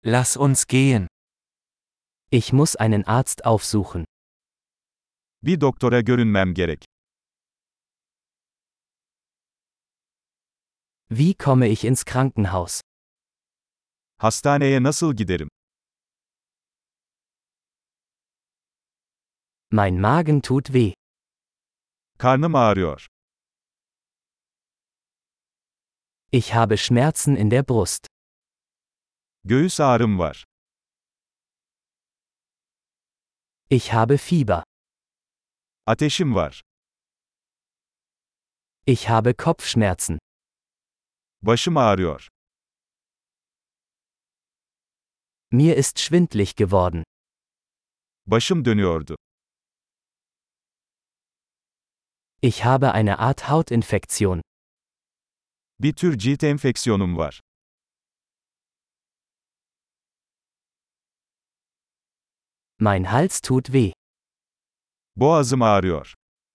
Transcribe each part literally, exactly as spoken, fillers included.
Lass uns gehen. Ich muss einen Arzt aufsuchen. Bir doktora görünmem gerek. Wie komme ich ins Krankenhaus? Hastaneye nasıl giderim? Mein Magen tut weh. Karnım ağrıyor. Ich habe Schmerzen in der Brust. Göğüs ağrım var. Ich habe Fieber. Ateşim var. Ich habe Kopfschmerzen. Başım ağrıyor. Mir ist schwindlig geworden. Başım dönüyordu. Ich habe eine Art Hautinfektion. Bir tür cilt enfeksiyonum var. Mein Hals tut weh. Boğazım ağrıyor.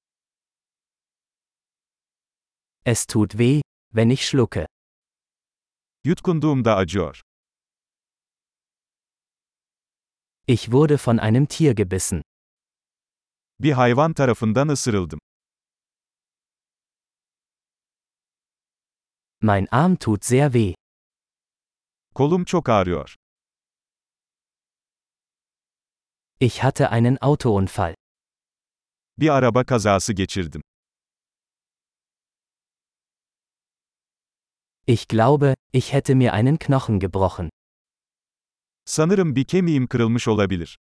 Es tut weh, wenn ich schlucke. Yutkunduğumda acıyor. Ich wurde von einem Tier gebissen. Bir hayvan tarafından ısırıldım. Mein Arm tut sehr weh. Kolum çok ağrıyor. Ich hatte einen Autounfall. Bir araba kazası geçirdim. Ich glaube, ich hätte mir einen Knochen gebrochen. Sanırım bir kemiğim kırılmış olabilir.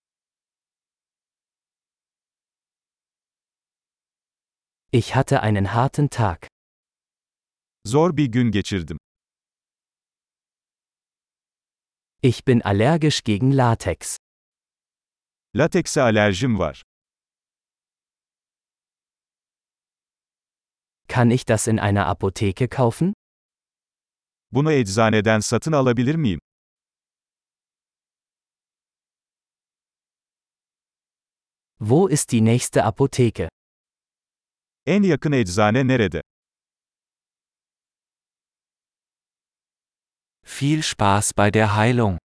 Ich hatte einen harten Tag. Zor bir gün geçirdim. Ich bin allergisch gegen Latex. Latekse alerjim var. Kann ich das in einer Apotheke kaufen? Bunu eczaneden satın alabilir miyim? Wo ist die nächste Apotheke? En yakın eczane nerede? Viel Spaß bei der Heilung.